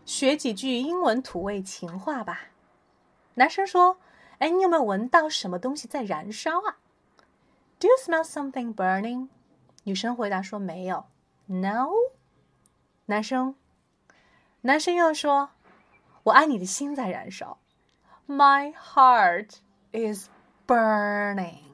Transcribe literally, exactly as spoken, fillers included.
学几句英文土味情话吧。男生说，哎，你有没有闻到什么东西在燃烧啊？ Do you smell something burning? 女生回答说没有。 No? 男生男生又说，我爱你的心在燃烧。 My heart is burning.